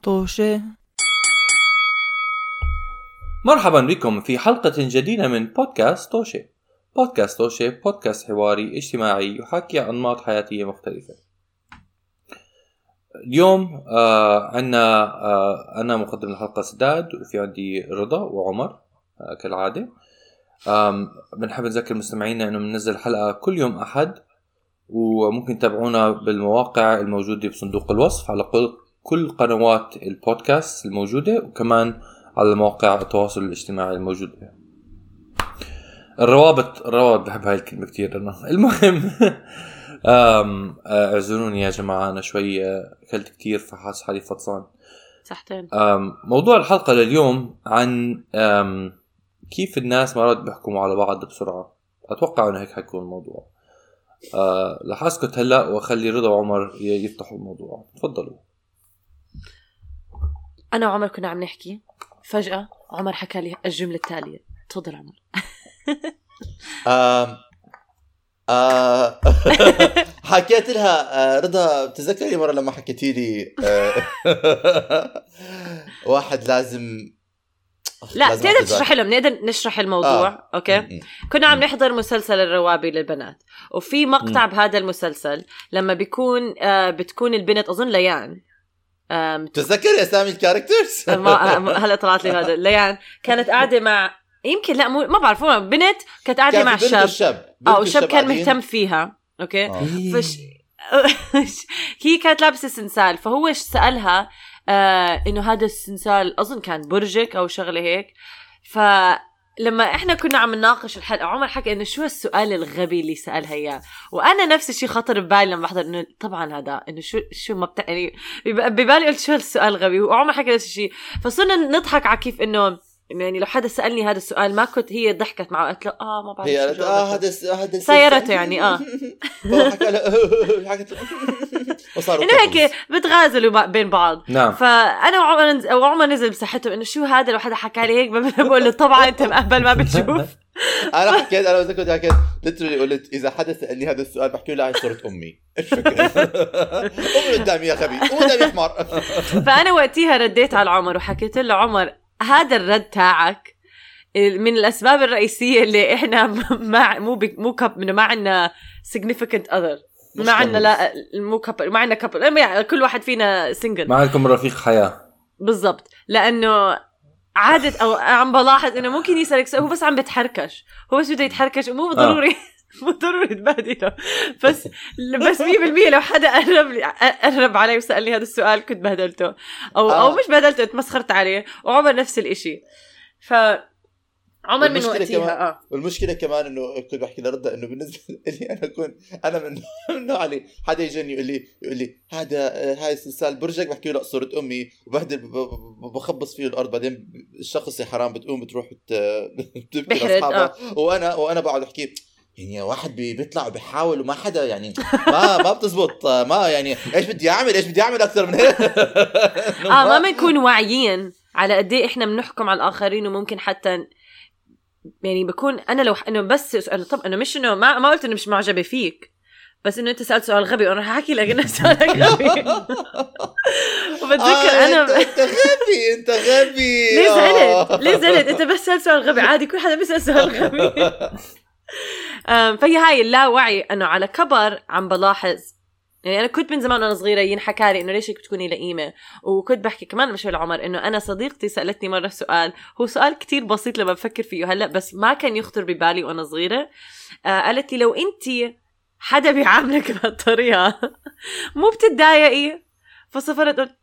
طوشة. مرحبا بكم في حلقة جديدة من بودكاست طوشة. بودكاست طوشة بودكاست حواري اجتماعي يحاكي عن أنماط حياتية مختلفة. اليوم عنا أنا مقدم الحلقة سداد، وفي عندي رضا وعمر كالعادة. بنحب نذكر مستمعينا أنه بننزل حلقة كل يوم أحد، وممكن تتابعونا بالمواقع الموجودة بصندوق الوصف على كل قنوات البودكاست الموجودة، وكمان على مواقع التواصل الاجتماعي الموجودة. الروابط بحب هاي الكلمة كتير أنا. المهم اعذروني يا جماعة، أنا شوي أكلت كتير فحاس حالي فطسان. صحتين. موضوع الحلقة لليوم عن كيف الناس مرات بيحكموا على بعض بسرعة. أتوقع أنه هيك حيكون الموضوع. رح أسكت هلأ وأخلي رضا وعمر يفتحوا الموضوع. تفضلوا. أنا وعمر كنا عم نحكي، فجأة عمر حكى لي الجملة التالية. تفضل عمر. حكيت لها رضا، بتذكري مرة لما حكيتي لي واحد لازم لا تقدر تشرح لهم، نقدر نشرح الموضوع. أوكي. كنا عم نحضر مسلسل الروابي للبنات، وفي مقطع بهذا المسلسل لما بتكون البنت أظن ليان. تذكري أسامي الكاركترز؟ هلا طلعت لي هذا. ليان كانت قاعدة مع، يمكن لا ما بعرف، بنت كانت قاعدة مع شاب شاب كان مهتم فيها. أوكي. هي كانت لابسة سنسال، فهو سألها إنه هذا السنسال أظن كان برجك أو شغلة هيك. فلما إحنا كنا عم نناقش الحلقة، عمر حكى إنه شو السؤال الغبي اللي سألها إياه، وأنا نفس الشيء خطر ببالي لما بحضر إنه طبعا هذا إنه شو ما يعني ببالي قلت شو السؤال الغبي، وعمر حكى نفس الشيء. فصرنا نضحك على كيف إنه يعني لو حدا سألني هذا السؤال ما كنت، هي ضحكت معه قالت له ما بعرف هي هذا سيارته يعني حكت إنه هيك بتغازلوا بين بعض. نعم. فأنا وعمر نزل بصحته إنه شو هذا، لو حدا حكى لي هيك بقول له طبعا أنت مقبل ما بتشوف. أنا حكيت لترلي قلت إذا حدا سألني هذا السؤال بحكي له هاي صورة أمي. إيش فكرة؟ أمي قدامي يا خبي، قدامي حمار. فأنا وقتها رديت على عمر وحكيت له عمر، هذا الرد تاعك من الأسباب الرئيسية اللي إحنا ما عنا significant other، ما عنا لا مو كابل، ما عنا كابل، كل واحد فينا single، ما عندكم رفيق حياة. بالضبط. لأنه عادة أو عم بلاحظ إنه ممكن يسألك سؤال هو بس عم بتحركش، هو بس بده يتحركش ومو ضروري مو ضروري تبهدله. بس 100% لو حدا قرب علي وسألني هذا السؤال كنت بهدلته أو مش بهدلته، اتمسخرت عليه. وعمر نفس الاشي. عمر من وقتها والمشكلة كمان إنه كنت بحكي لرضا إنه بالنسبة لي أنا من نوع علي حدا يجيني يقول لي هاي السلسال برجك، بحكي له صورة أمي وبهدل بخبص فيه الأرض. بعدين الشخص يا حرام بتقوم بتروح تبكي لأصحابها، وأنا بقعد أحكي يعني واحد بيطلع وبيحاول وما حدا يعني ما بتزبط. ما يعني ايش بدي اعمل اكثر من هيك. ما بنكون واعيين على قد ايه احنا بنحكم على الاخرين، وممكن حتى يعني بكون انا لو انه بس انا طب انا مش انه ما قلت انه مش معجبه فيك، بس انه انت سألت سؤال غبي وانا هحكي لك انه سؤالك غبي. وبتذكر انا انت غبي ليه زعلت انت بس سألت سؤال غبي، عادي كل حدا بيسأل سؤال غبي. فهي هاي اللاوعي انه على كبر عم بلاحظ. يعني انا كنت من زمان وانا صغيره ينحكى لي انه ليش بتكوني لئيمه، وكنت بحكي كمان مش لعمر انه انا صديقتي سالتني مره سؤال، هو سؤال كتير بسيط لما بفكر فيه هلا، بس ما كان يخطر ببالي وانا صغيره. قالت لي لو انت حدا بيعاملك بهالطريقه مو بتتضايقي؟ فصفرت قلت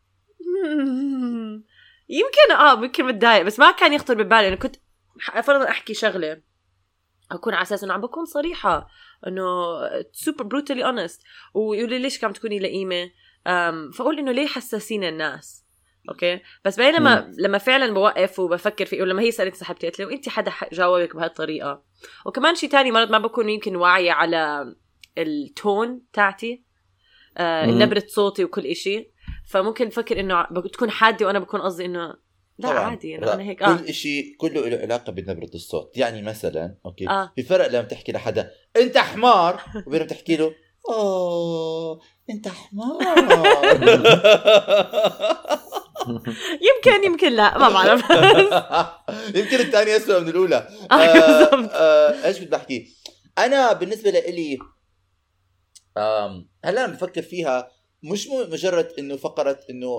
يمكن متضايق، بس ما كان يخطر ببالي. انا كنت فرضا احكي شغله أكون على أساس إنه عم بكون صريحة، إنه super brutally honest، ويقول لي ليش كم تكوني لئيمة. فأقول إنه ليه حساسين الناس. أوكي. بس بينما لما فعلا بوقف وبفكر فيه، ولما هي سألت صاحبتي قلت له أنت حدا جاوبك بهالطريقة. وكمان شيء تاني مرات ما بكون يمكن واعية على التون تاعتي، نبرة صوتي وكل إشي، فممكن فكر إنه تكون حادة وأنا بكون قصدي إنه لا عادي أنا هيك. كل إشي كله له علاقة بنبرة الصوت. يعني مثلا أوكي في فرق لما تحكي لحدا أنت حمار وبينما تحكي له أنت حمار. يمكن لا ما بعرف. يمكن الثانية أسوأ من الأولى. إيش بدي بحكي؟ أنا بالنسبة لي هلا أنا بفكر فيها مش مجرد إنه فقرة إنه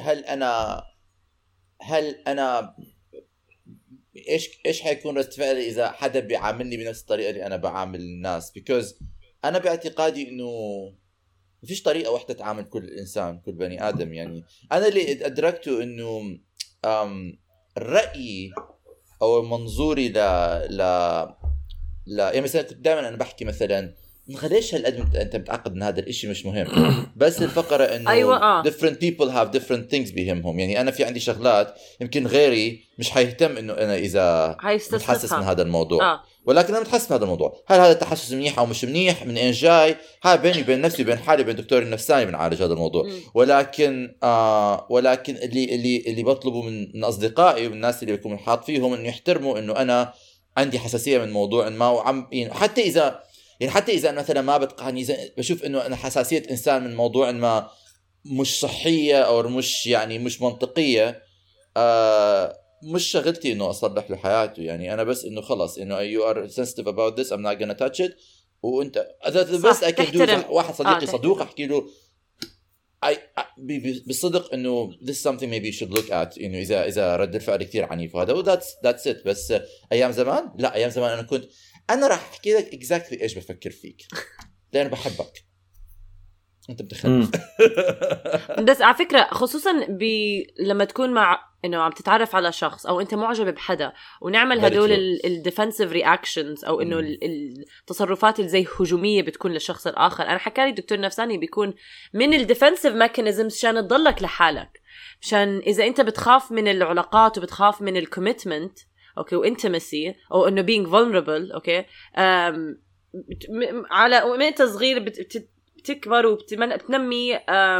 هل أنا إيش حيكون رد فعلي إذا حدا بيعاملني بنفس الطريقة اللي أنا بعامل الناس. because أنا باعتقادي إنه مفيش طريقة واحدة تعامل كل إنسان كل بني آدم. يعني أنا اللي أدركته إنه الرأي أو منظوري يعني مثلا كنت دائما أنا بحكي مثلا خليش هالقد أنت متعقد إن هذا الإشي مش مهم. بس الفقرة إنه أيوة. different people have different things بيهمهم. يعني أنا في عندي شغلات يمكن غيري مش حيهتم إنه أنا إذا متحسس من هذا الموضوع ولكن أنا متحسس من هذا الموضوع. هل هذا التحسس منيح أو مش منيح من إين جاي هاي بيني وبين نفسي بين حالي بين دكتور النفساني بنعالج هذا الموضوع. ولكن اللي بطلبه من أصدقائي والناس اللي بيكون حاط فيهم إنه يحترموا إنه أنا عندي حساسية من موضوع ما وعم يعني حتى إذا مثلا ما بتقعني بشوف إنه أنا حساسية إنسان من موضوع ما مش صحية أو مش منطقية مش شغلتي إنه أصلح له حياته. يعني أنا بس إنه خلص إنه you are sensitive about this I'm not gonna touch it. وأنت بس أكيد واحد صديقي صدوق أحكي له بالصدق إنه this is something maybe you should look at. إنه إذا رد الفعل كتير عنيف وهذا that's it. بس أيام زمان أنا راح أحكي لك exactly إيش بفكر فيك لأن بحبك أنت بتخلف. بس على فكرة خصوصا لما تكون مع إنه عم تتعرف على شخص أو أنت معجب بحدا ونعمل هدول الديفنسيف رياكشنز أو إنه التصرفات اللي زي هجومية بتكون للشخص الآخر. أنا حكالي الدكتور نفساني بيكون من الديفنسيف ميكانيزمز عشان تضلك لحالك، عشان إذا أنت بتخاف من العلاقات وبتخاف من الكوميتمنت اوكي وانتمسي او انه being vulnerable اوكي على وانت صغير بتكبر وبتنمي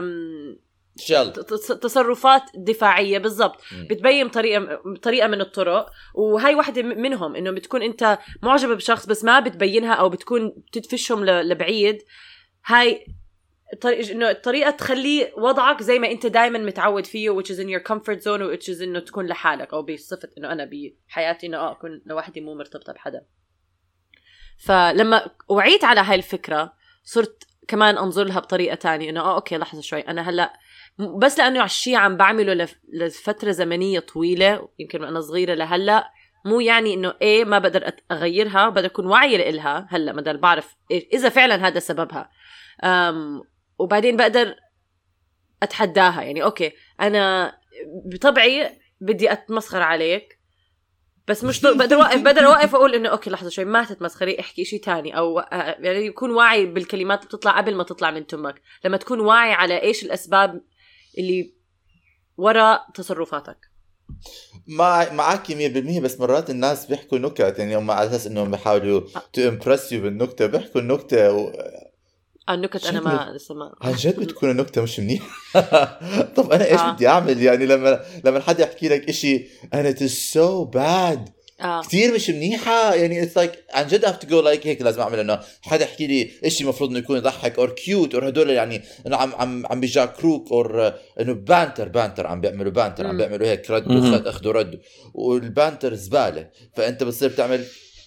تصرفات دفاعيه بالضبط بتبين طريقه من الطرق. وهي واحدة منهم انه بتكون انت معجب بشخص بس ما بتبينها او بتكون تدفشهم لبعيد. هاي إنه الطريقة تخلي وضعك زي ما أنت دايما متعود فيه which is in your comfort zone which is إنه تكون لحالك أو بصفة إنه أنا بحياتي إنه أكون لوحدي مو مرتبطة بحدا. فلما وعيت على هاي الفكرة صرت كمان أنظر لها بطريقة تانية إنه أوكي لحظة شوي أنا هلأ بس لأنه عالشي عم بعمله لفترة زمنية طويلة يمكن أنا صغيرة لهلأ مو يعني إنه إيه ما بقدر أغيرها بقدر أكون واعية لإلها هلأ ما بعرف إذا فعلا هذا سببها وبعدين بقدر أتحداها. يعني أوكي أنا بطبعي بدي أتمسخر عليك بس مش بقدر أوقف أقول إنه أوكي لحظة شوي ما تتمسخري احكي شيء تاني أو يعني يكون واعي بالكلمات اللي بتطلع قبل ما تطلع من تمك. لما تكون واعي على إيش الأسباب اللي وراء تصرفاتك. معك 100% بس مرات الناس بيحكوا نكت يعني هم على أساس إنهم بيحاولوا to impress you بالنكتة بيحكوا النكتة النكت أنا ما لسه ما عن جد بتكون النكتة مش منيح. طب أنا إيش بدي أعمل يعني لما حدا يحكي لك إشي and it is so bad كتير مش منيحة يعني it's like عن جد have to go like هيك لازم أعمل إنه حدا يحكي لي إشي مفروض إنه يكون يضحك or cute or هدول يعني إنه عم بيجا كروك or إنه بانتر عم بيعملوا بانتر عم بيعملوا هيك ردوا أخذوا ردوا والبانتر زبالة فأنت بتصير تعمل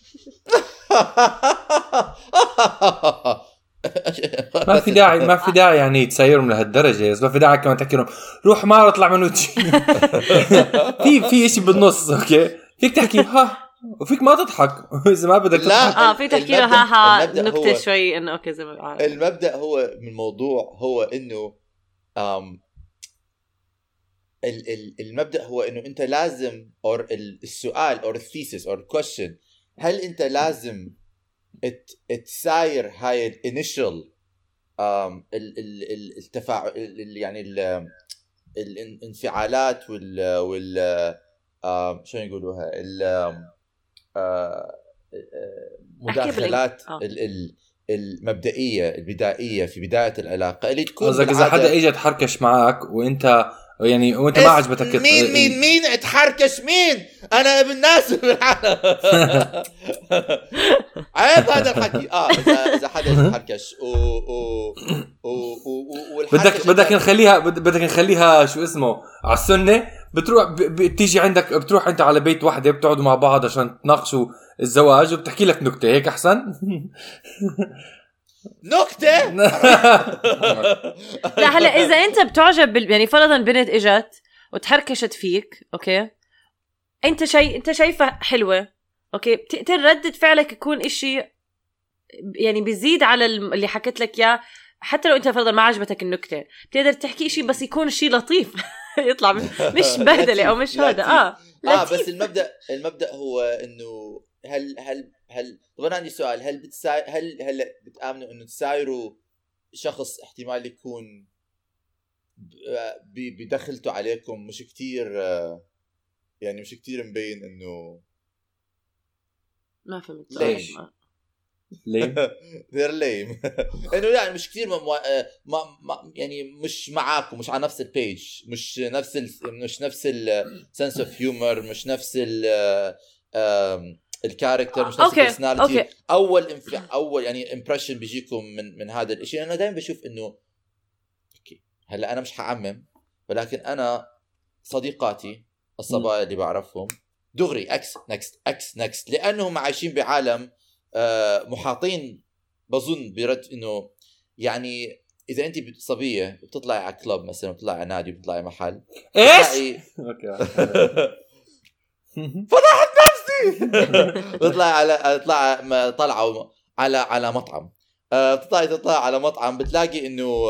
ما في داعي يعني تسيرهم لهالدرجة. ما في داعي كمان تحكي لهم روح ما اطلع من وجهي. في شيء بالنص اوكي فيك تحكي ها وفيك ما تضحك اذا ما بدك تضحك. فيك تحكي له ها نكتة شوي انه اوكي زي ما بعرف. المبدأ هو من الموضوع هو انه المبدأ هو انه انت لازم or السؤال or الثيسيس or question هل انت لازم تساير هاي الانيشال التفاعل يعني الانفعالات وال شو يقولوها المداخلات المبدئية البدائية في بداية العلاقة اللي تكون إذا حدا إجا تحركش معك وإنت يعني وانت ما عجبتك مين اتحركش مين انا ابن ناس بالعالم عيب هذا الحكي اذا حدا يتحركش بدك نخليها شو اسمه على السنه بتروح بتيجي عندك بتروح انت على بيت واحده بتقعدوا مع بعض عشان تناقشوا الزواج وبتحكي لك نكته هيك احسن نكته لا هلا اذا انت بتعجب يعني فرضا بنت اجت وتحركشت فيك اوكي انت شايفها حلوه اوكي بتقدر ردة فعلك يكون اشي يعني بيزيد على اللي حكيت لك اياه حتى لو انت فرضا ما عجبتك النكته بتقدر تحكي شيء بس يكون شيء لطيف يطلع مش بهدله او مش هذا بس المبدأ هو انه هل طبعا عندي سؤال هل بتآمنوا انه تسايروا شخص احتمال يكون بدخلته عليكم مش كتير يعني مش كتير مبين انه ما فهمت ليه they're lame انه يعني مش كتير يعني مش معاكم مش على نفس البيج مش نفس السنس اوف هيومر مش نفس الكاركتر مش نفس البرسوناليتي اول يعني امبريشن بيجيكم من هذا الشيء. انا دائما بشوف انه اوكي هلا انا مش هعمم ولكن انا صديقاتي الصبايا اللي بعرفهم دغري اكس نكست لانهم عايشين بعالم محاطين بظن برد انه يعني اذا انت صبيه بتطلعي على كلوب مثلا بتطلعي على نادي بتطلعي محل ايش اوكي فضحت نفسي بتطلعي طلعوا على مطعم تطلع على مطعم بتلاقي انه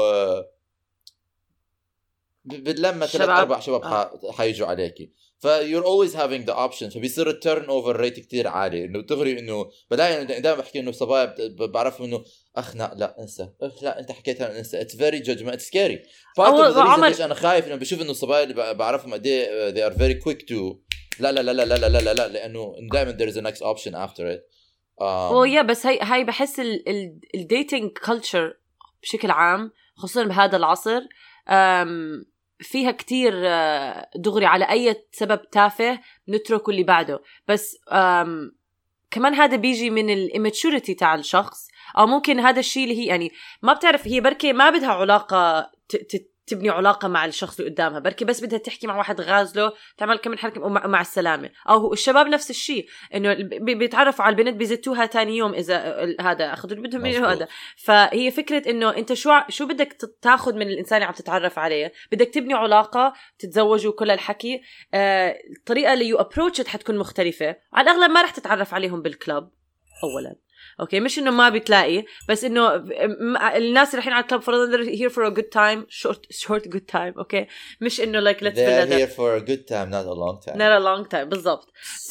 لما 3-4 شباب حيجوا عليكي you're always having the option فبيصير التيرن اوفر ريت كتير عالي انه تغري انه بلاقي دائما بحكي انه صبايا بعرف انه لا انسى لا انت حكيتها انسى it's very judgment it's scary ليش انا خايف انه بشوف انه الصبايا اللي بعرفهم قد ايه they are very quick to لا لانه دائما there is a next option after it بس هاي بحس الديتينج كلتشر بشكل عام خصوصا بهذا العصر فيها كتير دغري على أي سبب تافه نترك اللي بعده بس كمان هذا بيجي من الاماتشوريتي تاع الشخص أو ممكن هذا الشيء اللي هي يعني ما بتعرف هي بركي ما بدها علاقة تبني علاقة مع الشخص اللي قدامها بركي بس بدها تحكي مع واحد غازله تعمل كم حركة مع السلامة أو الشباب نفس الشيء إنه بيتعرفوا على البنت بيزتوها تاني يوم إذا هذا أخذوا بدهم منه هذا فهي فكرة إنه أنت شو بدك تاخد من الإنسان اللي عم تتعرف عليه بدك تبني علاقة تتزوجوا كل الحكي الطريقة اللي يو أبروتش حتكون مختلفة على الأغلب ما رح تتعرف عليهم بالكلاب أولاً اوكي مش انه ما بتلاقي بس انه الناس اللي رايحين على الكلب فرضا here for a good time short good time اوكي مش انه like let's they're here for a good time not a long time بالضبط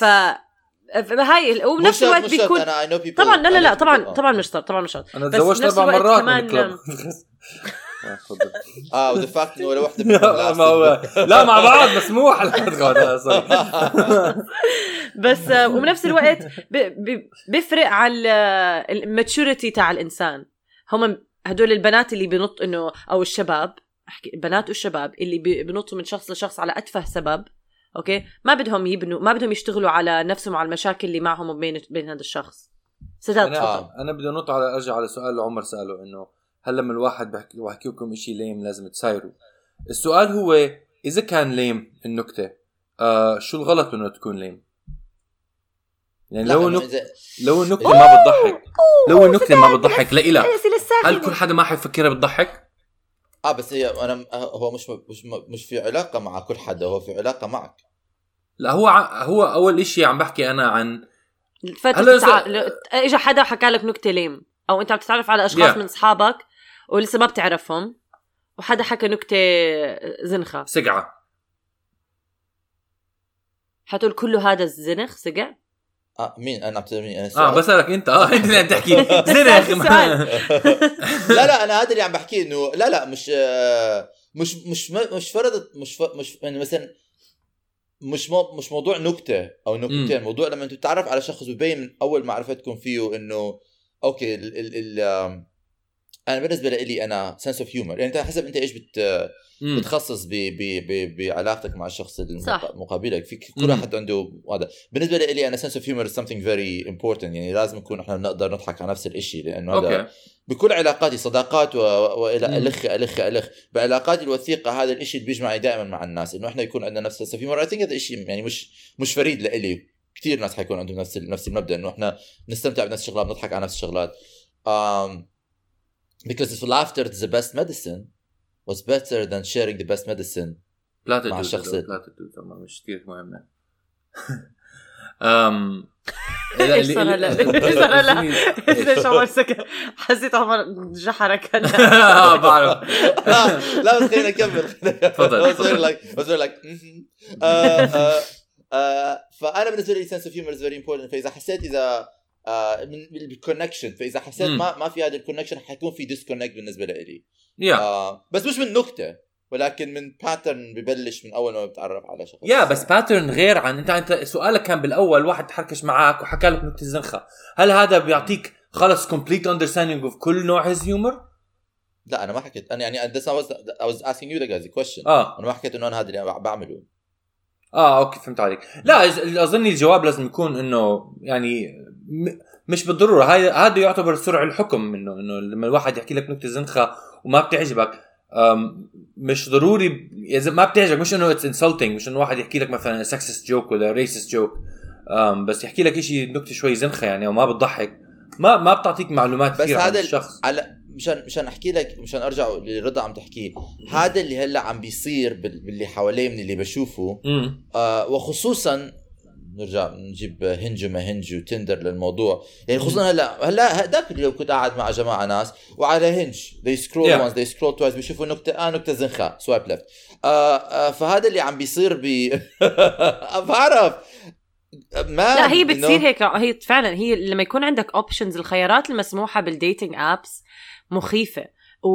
هاي وبنفس الوقت بيكون طبعا لا طبعا مش شرط انا تزوجت 4 مرات من الكلب وذا فاكت انه ولا وحده لا مع بعض مسموح بس وبنفس الوقت بيفرق على الماتشوريتي تاع الانسان هم هدول البنات اللي بنط انه او الشباب احكي البنات والشباب اللي بنطوا من شخص لشخص على اتفه سبب اوكي ما بدهم يبنوا ما بدهم يشتغلوا على نفسهم على المشاكل اللي معهم وبين هذا الشخص انا بدي انط على ارجع على سؤال اللي عمر ساله انه هل لما الواحد بحكي لكم إشي ليم لازم تسايروا السؤال هو إذا كان ليم النكتة شو الغلط إنه تكون ليم يعني لو النكتة ما بتضحك لو النكتة ما بتضحك لا إله هل كل حدا ما حيفكرها بتضحك بس هي أنا هو مش في علاقة مع كل حدا هو في علاقة معك لا هو أول إشي عم بحكي أنا عن إجا حدا حكى لك نكتة ليم أو أنت عم تتعرف على أشخاص من أصحابك ولسه ما بتعرفهم وحدا حكى نكتة زنخة سقعة حتقول كله هذا الزنخ سقع مين انا بتسالني بسألك انت انت اللي عم تحكي زنخ لا انا هذا اللي عم بحكي انه لا مش فرضت مش يعني مثلا مش موضوع نكتة او نكتتين موضوع لما انت تتعرف على شخص وبين من اول معرفتكم فيه انه اوكي انا بالنسبه لي انا سنس اوف هيومر، يعني انت حسب انت ايش بتخصص بعلاقتك مع الشخص المقابلك. في كل واحد عنده هذا. بالنسبه لي انا سنس اوف هيومر something very important، يعني لازم نكون احنا نقدر نضحك على نفس الشيء، لانه هذا بكل علاقاتي صداقات والى الخ بعلاقاتي الوثيقه هذا الشيء اللي بيجمعني دائما مع الناس، انه احنا يكون عندنا نفس سنس اوف هيومر. اي ثينك هذا الشيء يعني مش فريد لإلي، كثير ناس حيكون عندهم نفس المبدا، انه احنا نستمتع بنفس الشغلات، نضحك على نفس الشغلات. because laughter is the best medicine was better than sharing the best medicine مع الشخص. مش كثير مهمة. ايش صار لا ليش عمر سكت؟ حسيت عمر جحرك هلا. بعرف. لا بس خلينا نكمل. تفضل. فأنا بالنسبة لي sense of humor is very important. فإذا حسيت من الكونكشن، فإذا حسيت ما في هذا الكونكشن حيكون في disconnect بالنسبة لي. بس مش من نكتة، ولكن من باترن ببلش من اول ما بتعرف على شخص. بس باترن غير عن انت سؤالك كان بالاول واحد تحركش معك وحكى لك نكته زنخه، هل هذا بيعطيك خلص complete understanding of كل نوع his humor؟ لا انا ما حكيت، انا يعني I was asking you the question. انا ما حكيت انه انا هذا اللي أنا بعمله. اوكي فهمت عليك. لا اظن الجواب لازم يكون انه يعني مش بالضروره هذا يعتبر سرعه الحكم، انه لما الواحد يحكي لك نكته زنخه وما بتعجبك مش ضروري اذا ما بتعجبك، مش انه it's insulting، مش انه واحد يحكي لك مثلا sexist joke ولا racist joke، بس يحكي لك شيء نكته شوي زنخه يعني وما بتضحك، ما بتعطيك معلومات كثير عن الشخص. مشان احكي لك، مشان ارجع لرضا عم تحكيه، هذا اللي هلا عم بيصير باللي حواليه من اللي بشوفه. وخصوصا نرجع نجيب هنج وما هنج وتندر للموضوع، يعني خصوصا هلا هداك اليوم كنت قاعد مع جماعه ناس وعلى هنج they scroll once they scroll twice بيشوفوا نكته زنخه swipe left. فهذا اللي عم بيصير بعرف لا هي بتصير هيك، هي فعلا هي لما يكون عندك اوبشنز، الخيارات المسموحه بالديتينج ابس مخيفه،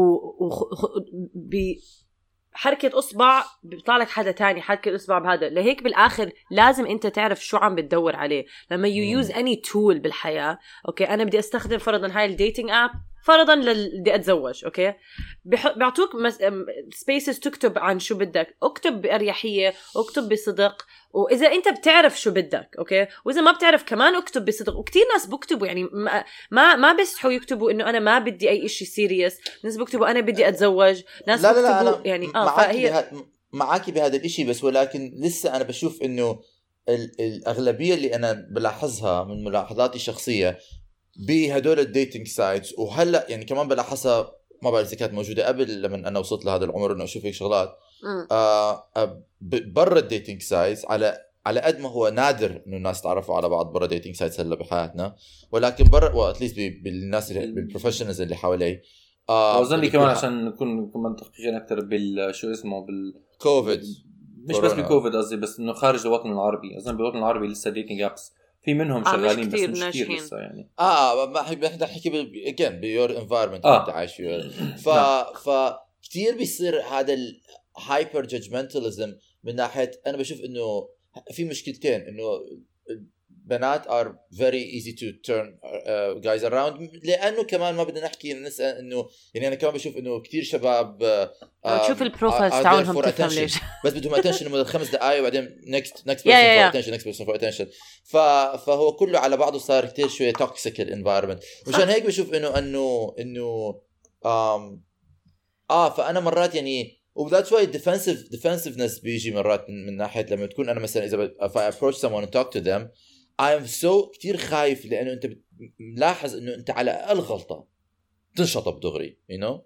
حركة أصبع بيطلع لك حدا تاني، حركة الأصبع بهذا. لهيك بالآخر لازم أنت تعرف شو عم بتدور عليه لما you use any tool بالحياة. أوكي أنا بدي أستخدم فرضاً هاي الديتينج آب فرضاً بدي أتزوج، أوكي بيعطوك spaces تكتب عن شو بدك، اكتب بأريحية، اكتب بصدق، وإذا أنت بتعرف شو بدك أوكي، وإذا ما بتعرف كمان اكتب بصدق. وكتير ناس بكتبوا يعني ما بيستحوا يكتبوا إنه أنا ما بدي أي إشي سيريس، ناس بكتبوا أنا بدي أتزوج، ناس بكتبوا يعني معاكي بهذا الإشي. بس ولكن لسه أنا بشوف إنه الأغلبية اللي أنا بلاحظها من ملاحظاتي الشخصية بهدول الديتينج سايتس، وهلأ يعني كمان بلاحظها، ما بعرف إذا كانت موجودة قبل لما أنا وصلت لهذا العمر إنه أشوف هيك شغلات برا الديتينج سايتس. على قد ما هو نادر إنه الناس تعرفوا على بعض برا ديتينج سايتس هلا بحياتنا، ولكن برا واتليست بالناس بالبروفيشنالز اللي حوالي. أظن كمان عشان نكون كمان دقيقين أكتر بالشو اسمه بالكوفيد، مش بس بالكوفيد قصدي، بس إنه خارج الوطن العربي. أظن بالوطن العربي لسه ديتينج أبس في منهم شغالين، بس مش كتير لسه يعني. ما حكي again بيور environment أنت عايش فيه. فكتير بيصير هذا الهايبر جادجمنتاليزم من ناحية. أنا بشوف إنه في مشكلتين، إنه بنات are very easy to turn guys around، لأنه كمان ما بدنا نحكي نسأل إنه يعني أنا كمان بشوف إنه كتير شباب تشوف البروفايلز تاعهم تفهم ليش بس بدهم attention لمدة 5 دقايق وبعدين next person for attention. فهو كله على بعضه صار كتير شوية toxic environment. مشان هيك بشوف إنه فأنا مرات يعني وذاتس واي defensiveness بيجي مرات من ناحية لما تكون أنا مثلا إذا if I approach someone and talk to them I'm so كتير خايف، لأنه أنت ملاحظ إنه أنت على أقل غلطة تنشطب دغري you know.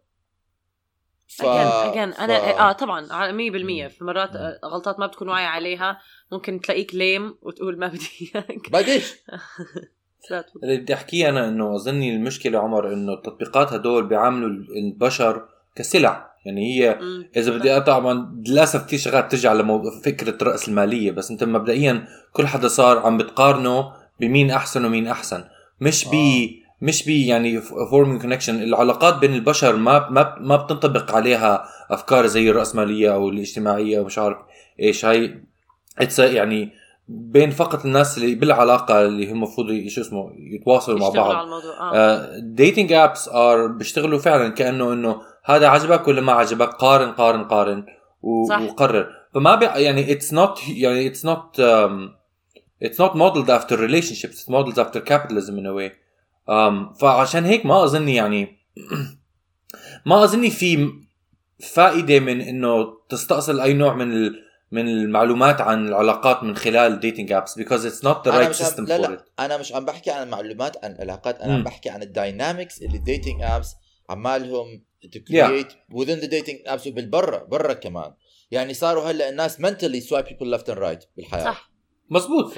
أنا طبعا على 100% في مرات غلطات ما بتكون واعي عليها، ممكن تلاقيك ليم وتقول ما بدي بديش. اللي بدي أحكيه أنا إنه أظني المشكلة عمر إنه التطبيقات هدول بيعاملوا البشر كسلع. يعني هي إذا بدي طبعا للأسف كتير شغلات ترجع على فكرة رأس المالية، بس أنت مبدئيا كل حدا صار عم بتقارنه بمين أحسن ومين أحسن، مش بي يعني forming connection. العلاقات بين البشر ما بتنطبق عليها أفكار زي الرأسمالية أو الاجتماعية ومش عارف إيش. هاي يعني بين فقط الناس اللي بالعلاقه اللي هم المفروض شو اسمه يتواصلوا مع بعض. على الموضوع. ديتينج ابس بيشتغلوا فعلا كانه انه هذا عجبك ولا ما عجبك، قارن وقرر. فما يعني it's not modeled after relationships, it's modeled after capitalism in a way. فعشان هيك ما أظني يعني ما أظني في فائدة من إنه تستأصل أي نوع من المعلومات عن العلاقات من خلال dating apps because it's not the right system for it. أنا مش عم بحكي عن المعلومات عن العلاقات، أنا عم بحكي عن الداينامكس اللي dating apps عمالهم to create within the dating apps وبالبرة كمان. يعني صاروا هلا الناس mentally swipe people left and right بالحياة. صح مزبوط.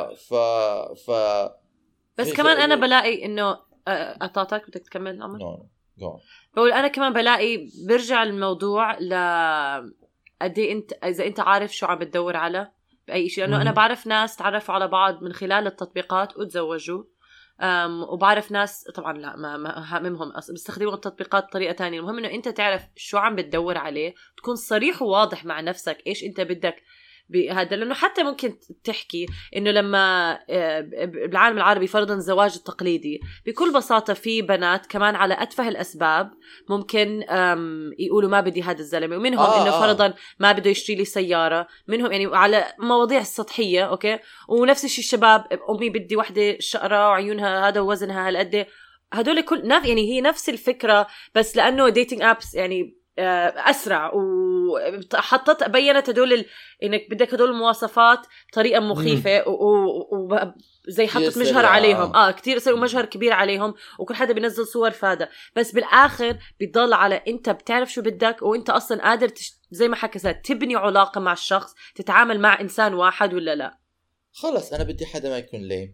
بس كمان أنا بلاقي إنه أطاطك بدك تكمل عمر؟ بقول أنا كمان بلاقي برجع الموضوع قدي أنت إذا أنت عارف شو عم بتدور على بأي شيء. لأنه أنا بعرف ناس تعرفوا على بعض من خلال التطبيقات وتزوجوا، وبعرف ناس طبعا لا ما همهم بيستخدموا التطبيقات بطريقة تانية. المهم إنه أنت تعرف شو عم بتدور عليه، تكون صريح وواضح مع نفسك إيش أنت بدك بهذا. لأنه حتى ممكن تحكي إنه لما بالعالم العربي فرضاً الزواج التقليدي بكل بساطة في بنات كمان على أتفه الأسباب ممكن يقولوا ما بدي هذا الزلمة، ومنهم إنه فرضاً ما بده يشتري لي سيارة، منهم يعني على مواضيع السطحية أوكي. ونفس الشيء الشباب، أمي بدي وحدة شقرة وعيونها هذا ووزنها هالقد، هدول كل يعني هي نفس الفكرة، بس لأنه ديتينج أبس يعني أسرع وحطت بينت هدول إنك بدك هدول المواصفات بطريقة مخيفة وزي حطت مجهر عليهم كتير يصيروا مجهر كبير عليهم، وكل حدا بينزل صور فاده. بس بالآخر بيضل على أنت بتعرف شو بدك، وأنت أصلا قادر زي ما حكيت تبني علاقة مع الشخص، تتعامل مع إنسان واحد ولا لا. خلص أنا بدي حدا ما يكون ليه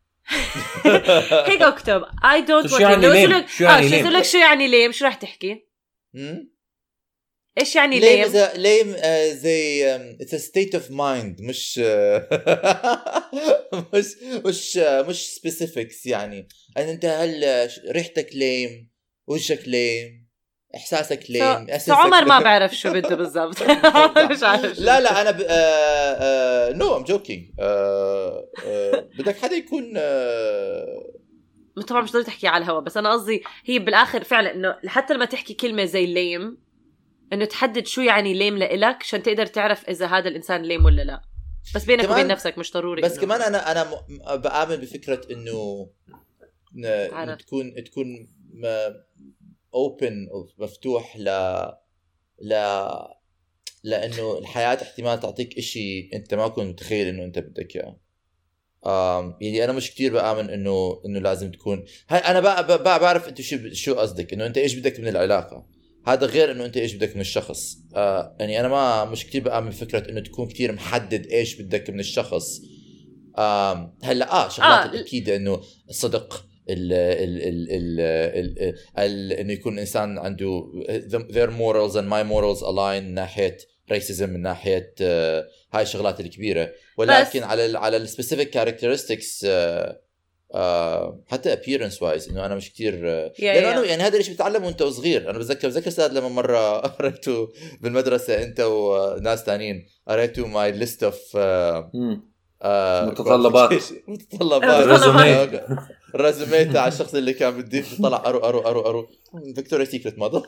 هيك اكتب I don't want شو يعني ليم شو راح تحكي؟ ايش يعني ليم زي it's a state of mind مش specifics. يعني انت هل ريحتك ليم، وجهك ليم، احساسك ليم، عمر ما بعرف شو بده بالضبط. مش عارف. لا انا no I'm joking. بدك حدا يكون طبعا مش ضروري تحكي على الهوا، بس انا قصدي هي بالاخر فعلا انه حتى لما تحكي كلمه زي ليم انه تحدد شو يعني ليم لإلك عشان تقدر تعرف اذا هذا الانسان ليم ولا لا، بس بينك وبين نفسك مش ضروري. بس كمان انا بآمن بفكره انه تكون open مفتوح لانه الحياه احتمال تعطيك اشي انت ما كنت متخيل انه انت بدك اياه. يعني انا مش كتير بآمن انه لازم تكون انا بعرف انت شو قصدك، انه انت ايش بدك من العلاقه، هذا غير انه انت ايش بدك من الشخص. يعني انا مش كتير بآمن فكره انه تكون كتير محدد ايش بدك من الشخص. هلا شغلات اكيد انه الصدق انه يكون انسان عنده their morals and my morals align من ناحيه racism، من ناحيه هاي الشغلات الكبيره، ولكن على السبيسيفيك characteristics حتى appearance wise انه انا مش كتير لانه يعني هذا الشيء بتعلمه وانت صغير. انا بتذكر استاذ لما مره قريته بالمدرسه انت وناس ثانيين، قريته my list of متطلبات رزومي تاع الشخص اللي كان بدي طلع ارو فيكتوريا سيكريت موديل.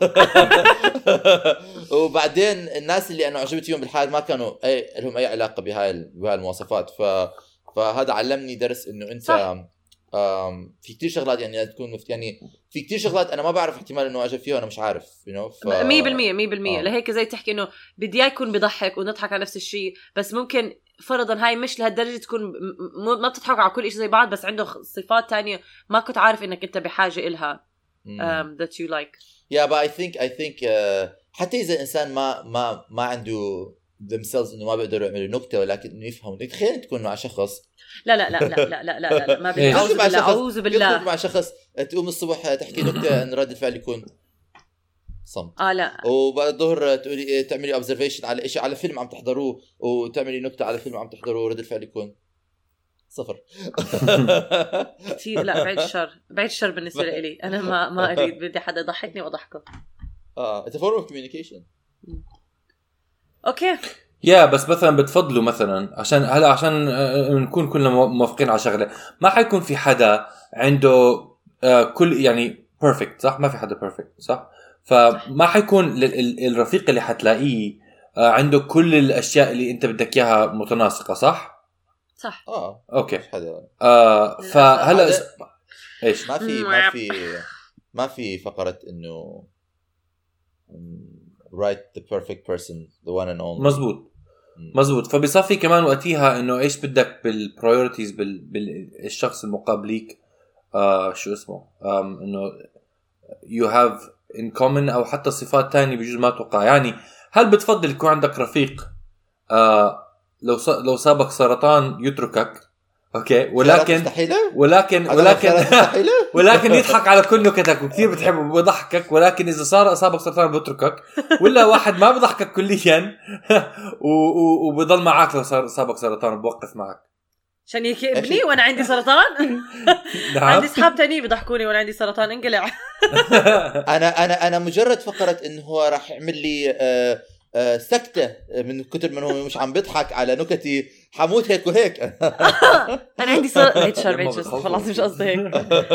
وبعدين الناس اللي انا عجبت فيهم بالحياه ما كانوا لهم اي علاقه بهاي المواصفات. فهذا علمني درس انه انت في كتير شغلات يعني تكون يعني في كتير شغلات انا ما بعرف احتمال انه اعجب فيها وانا مش عارف 100% لهيك زي تحكي انه بدي يكون بضحك ونضحك على نفس الشيء، بس ممكن فرضا هاي مش لهالدرجه تكون ما بتضحك على كل شيء زي بعض، بس عنده صفات تانية ما كنت عارف انك انت بحاجه إلها that you like. but I think حتى اذا الانسان ما عنده themselves انه ما بيقدروا يعملوا نكته، ولكن انه يفهموا. تخيل تكون مع شخص لا ما بدي اعوذ بالله مع شخص تقوم الصبح تحكي نكته ان رد الفعل يكون صمت. لا وبعد الظهر تقولي تعملي اوبزرفيشن على شيء على فيلم عم تحضروه، وتعملي نكته على فيلم عم تحضروه، رد الفعل يكون 0. كثير لا بعيد الشر بالنسبه لي. انا ما اريد، بدي حدا يضحكني واضحكه. it's a form of communication. اوكي يا بس مثلا بتفضلوا مثلا عشان هلا عشان نكون كلنا موافقين على شغله، ما حيكون في حدا عنده كل يعني بيرفكت صح، ما في حدا بيرفكت صح، فما حيكون الرفيق اللي حتلاقيه عنده كل الاشياء اللي انت بدك اياها متناسقه صح اوكي فهلا ايش ما في فقره انه right the perfect person the one and only. مزبوط فبيصفي كمان وقتها انه ايش بدك بالبرايورتيز بالشخص المقابليك شو اسمه انه you have in common او حتى صفات تانية بجوز ما توقع. يعني هل بتفضل يكون عندك رفيق لو سابق سرطان يتركك اوكي ولكن يضحك على كل نكتك وكثير بتحبه ويضحكك، ولكن اذا صار اصابك سرطان بيتركك، ولا واحد ما بضحكك كليا وبضل معك لو صابك سرطان وبوقف معك عشان يكبني وانا عندي سرطان؟ عندي اصحاب تاني بيضحكوني وانا عندي سرطان انقلع. انا مجرد فقره انه هو راح يعمل لي سكتة من كتر من هو مش عم بضحك على نكتي حموت هيك وهيك. أنا عندي صار خلاص مش قصدي هيك.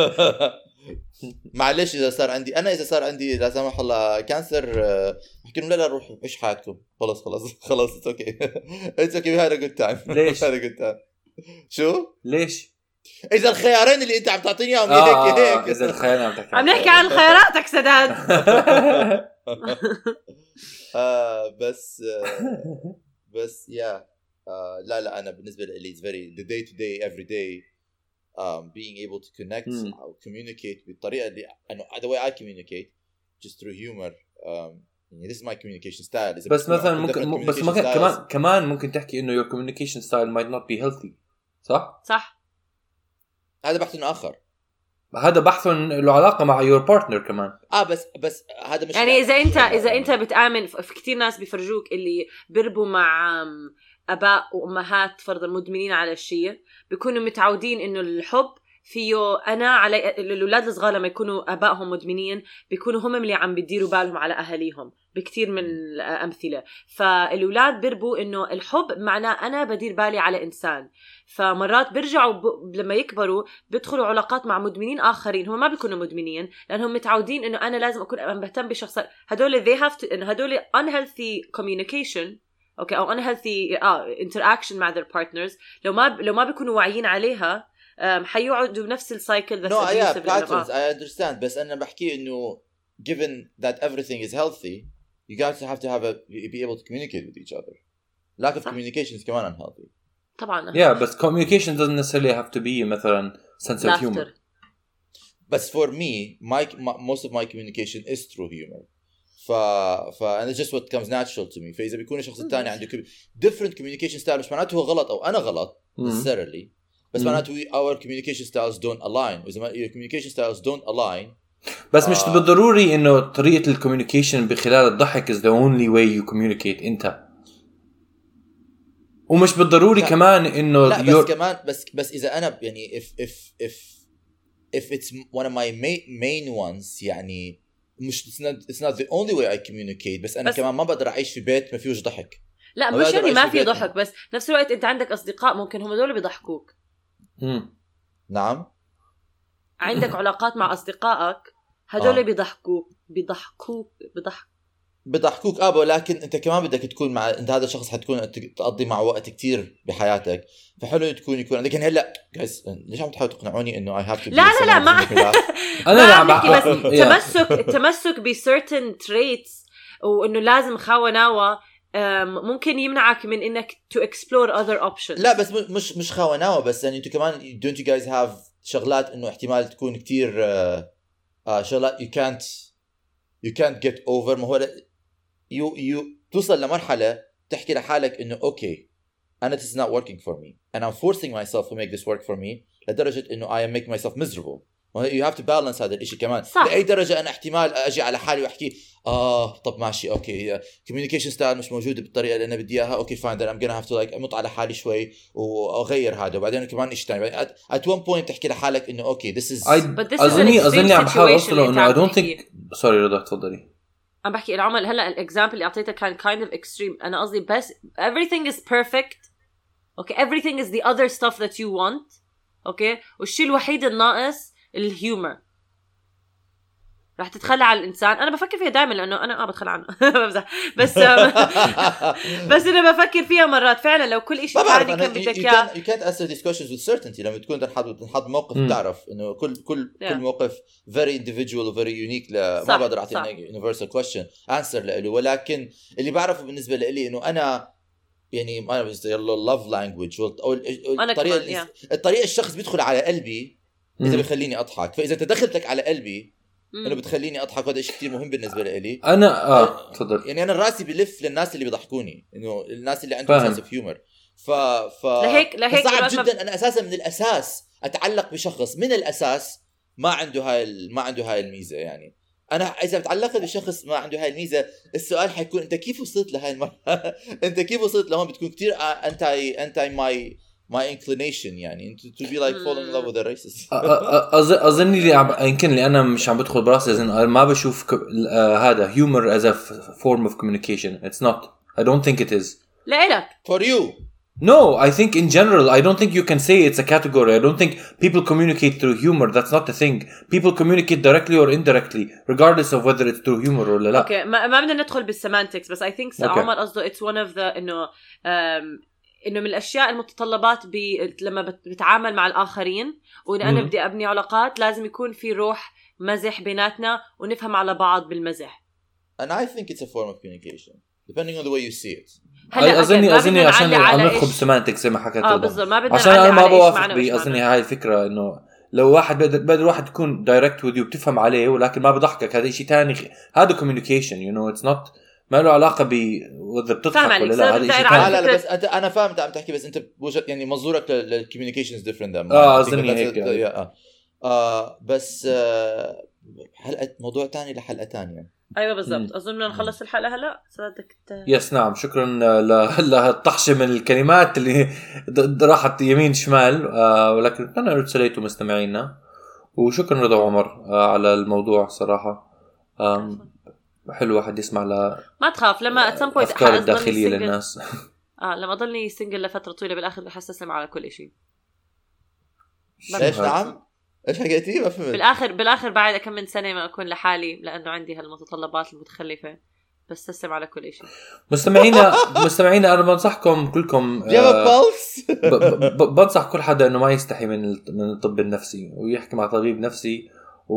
معلش إذا صار عندي لا سمح الله كانسر بحكي لهم لا روحوا عيش حياتكم خلاص it's okay we had a good time. ليش؟ شو؟ ليش؟ إذا الخيارين اللي أنت عم تعطيني إياهم هيك إذا الخيارين عم نحكي عن خياراتك سداد. بس لا أنا بالنسبة لي it's very the day to day every day being able to connect أو communicate بالطريقة اللي أنا the way I communicate just through humor this is my communication style. بس مثلا ممكن بس كمان ممكن تحكي إنه your communication style might not be healthy صح هذا بحث آخر، هذا بحث له علاقة مع your partner كمان. بس هذا مش يعني إذا أنت بتآمن في كتير ناس بيفرجوك اللي بيربوا مع أباء وأمهات فرضاً مدمنين على الشيء، بيكونوا متعودين إنه الحب فيه أنا على الأولاد الصغار لما يكونوا أبائهم مدمنين بيكونوا هم اللي عم بيديروا بالهم على أهاليهم بكتير من الأمثلة. فالأولاد بيربوا إنه الحب معناه أنا بدير بالي على إنسان، فمرات بيرجعوا لما يكبروا بيدخلوا علاقات مع مدمنين آخرين هم ما بيكونوا مدمنين لأنهم متعودين إنه أنا لازم أكون بهتم بشخص. هدول إنه هدول unhealthy communication أو unhealthy interaction مع their partners لو ما بيكونوا واعيين عليها حيقعدوا بنفس السايكل. No, yeah, patterns. I understand. بس أنا بحكي إنه given that everything is healthy, you guys have to be able to communicate with each other. Lack of communication is كمان unhealthy. طبعا. Yeah, but communication doesn't necessarily have to be مثلا sense of humor. But for me, most of my communication is through humor. and it's just what comes natural to me. فإذا بيكون الشخص الثاني عنده different communication style مش معناته هو غلط أو أنا غلط necessarily. بس معناته our communication styles don't align. وإذا your communication styles don't align بس مش بالضروري إنه طريقة الكوميونيكيشن بخلال الضحك is the only way you communicate أنت، ومش بالضروري كمان إنه لا بس كمان بس إذا أنا يعني if it's one of my main ones يعني مش it's not the only way I communicate بس أنا كمان ما بقدر أعيش في بيت ما فيهوش ضحك. لا مش يعني ما في ضحك بس نفس الوقت أنت عندك أصدقاء ممكن هم دول بيضحكوك. نعم عندك علاقات مع أصدقائك هدول بيضحكوك ولكن أنت كمان بدك تكون مع أنت هذا الشخص حتكون تقضي مع وقت كتير بحياتك، فحلو يكون لكن هلا جايز ليش عم تحاولوا تقنعوني إنه I have to لا ما أنا بس التمسك ب certain traits وإنه لازم خاوناوة ممكن يمنعك من إنك to explore other options. لا بس مش خاوناوة بس يعني أنتوا كمان don't you guys have شغلات إنه احتمال تكون كتير شغلات you can't get over. ما هو you توصل لمرحلة تحكي لحالك إنه okay أنا this is not working for me and I'm forcing myself to make this work for me لدرجة إنه I am making myself miserable. you have to balance هذا الإشي كمان صح. لأي درجة أنا احتمال أجي على حالي وأحكي طب ماشي أوكي communication style مش موجودة بالطريقة اللي أنا بدي إياها أوكي fine then I'm gonna have to like أمط على حالي شوي وأغير هذا وبعدين كمان إيش تاني at one point تحكي لحالك إنه okay this is أظني عم بحاول أوصله إنه I don't think sorry رضا تفضلي. عم بحكي العمل هلا الاكزامبل اللي اعطيته كان kind of extreme. انا قصدي بس everything is perfect. okay, everything is the other stuff that you want. okay, والشيء الوحيد الناقص الهيومر. رح تتخلى على الانسان. انا بفكر فيها دائما لانه انا بتخلى عنه بس بس انا بفكر فيها مرات فعلا لو كل شيء ثاني كان بدك اياه. you can't answer these questions with certainty. لما تكون تنحط موقف تعرف انه كل موقف very individual و very unique. ما بقدر اعطي universal question answer له. ولكن اللي بعرفه بالنسبه لي انه انا يعني ما بس love language او الطريقه الشخص بيدخل على قلبي اذا بيخليني اضحك. فاذا تدخلتك على قلبي انه بتخليني اضحك. هذا شيء كثير مهم بالنسبه لي. انا تفضل. يعني انا راسي بلف للناس اللي بيضحكوني انه الناس اللي عندهم سنس اوف هيومر. لهيك صعب جدا انا اساسا من الاساس اتعلق بشخص من الاساس ما عنده هاي الميزه. يعني انا اذا بتعلقت بشخص ما عنده هاي الميزه السؤال حيكون انت كيف وصلت لهاي المرحله؟ انت كيف وصلت لهون؟ بتكون كثير انت my inclination. يعني to be like falling in love with a racist. أظن اللي يمكن اللي أنا مش عم بدخل براسي أنا ما بشوف هذا humor as a form of communication. It's not. I don't think it is. لإلك. For you. No, I think in general I don't think you can say it's a category. I don't think people communicate through humor. That's not the thing. People communicate directly or indirectly regardless of whether it's through humor or لا. Okay, ما بدنا ندخل بالسيمانتكس بس I think عمر قصده it's one of the إنه من الأشياء المتطلبات لما بتعامل مع الآخرين وإذا أنا بدي أبني علاقات لازم يكون في روح مزح بيناتنا ونفهم على بعض بالمزح. And I think it's a form of communication depending on the way you see it. أظني عشان عم ندخل بسمانتك زي ما حكيت بالضبط ما بدنا عشان أنا ما بوافق أظني هاي الفكرة إنه لو واحد بدر واحد تكون direct with you بتفهم عليه ولكن ما بضحكك هذا شيء تاني. هذا communication you know it's not ما له علاقة وإذا بتضحك ولا لا. هذا شيء ثاني. لا بس أنا فاهم أنت عم تحكي بس أنت بوجه يعني منظورك للcommunications different. أظني هيك. بس حلقة موضوع تاني لحلقة تانية. أيوة بالضبط. أظن بدنا نخلص الحلقة هلا. صدقت. يس نعم. شكرا للطحشة من الكلمات اللي راحت يمين شمال ولكن أنا رسلته مستمعينا وشكرا رضا وعمر على الموضوع صراحة. حلو واحد يسمع ما تخاف لما at some point أفكار الداخلية للناس. لما أضلني سنجل لفترة طويلة بالآخر رح أستسلم على كل شيء. إيش نعم؟ إيش حكيتي ما فهمت. بالآخر بعد كم من سنة ما أكون لحالي لأنه عندي هالمتطلبات المتخلفة بستسلم على كل شيء. مستمعينا أنا بنصحكم كلكم بنصح كل حدا إنه ما يستحي من الطب النفسي ويحكي مع طبيب نفسي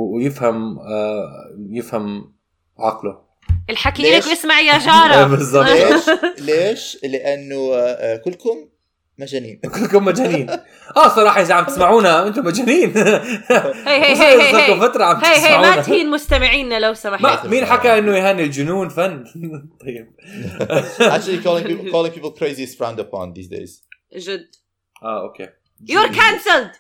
ويفهم عقله. الحكي لك واسمع يا جارة. ليش؟ لأنه كلكم مجانين. كلكم مجانين. صراحة إذا عم تسمعونا أنتم مجانين. هي فترة عم تسمعونا. ما تهين مستمعين لو سمحت. مين حكى إنه يهان الجنون فن؟ طيب. Actually calling people crazy is frowned upon these days. جد. Okay. You're cancelled.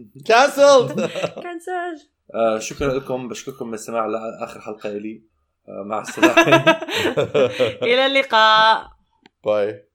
شكرا لكم. بشكركم من السماع لآخر حلقة لي. مع السلامة. إلى اللقاء. باي.